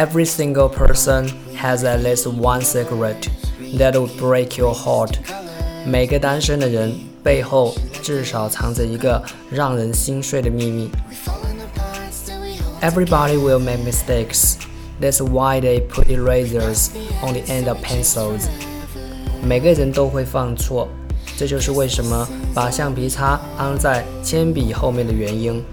Every single person has at least one secret that would break your heart. 每个单身的人背后至少藏着一个让人心碎的秘密。Everybody will make mistakes. That's why they put erasers on the end of pencils. 每个人都会犯错，这就是为什么把橡皮擦安在铅笔后面的原因。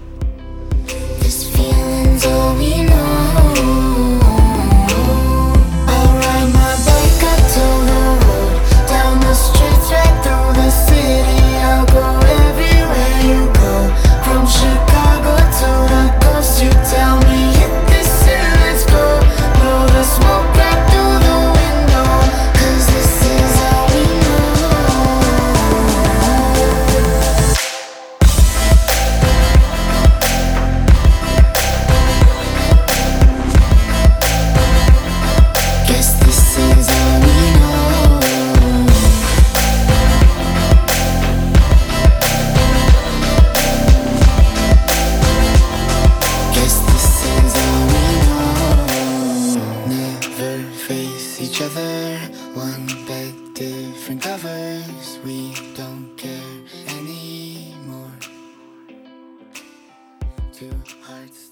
Each other, one bed, different covers. We don't care anymore. Two hearts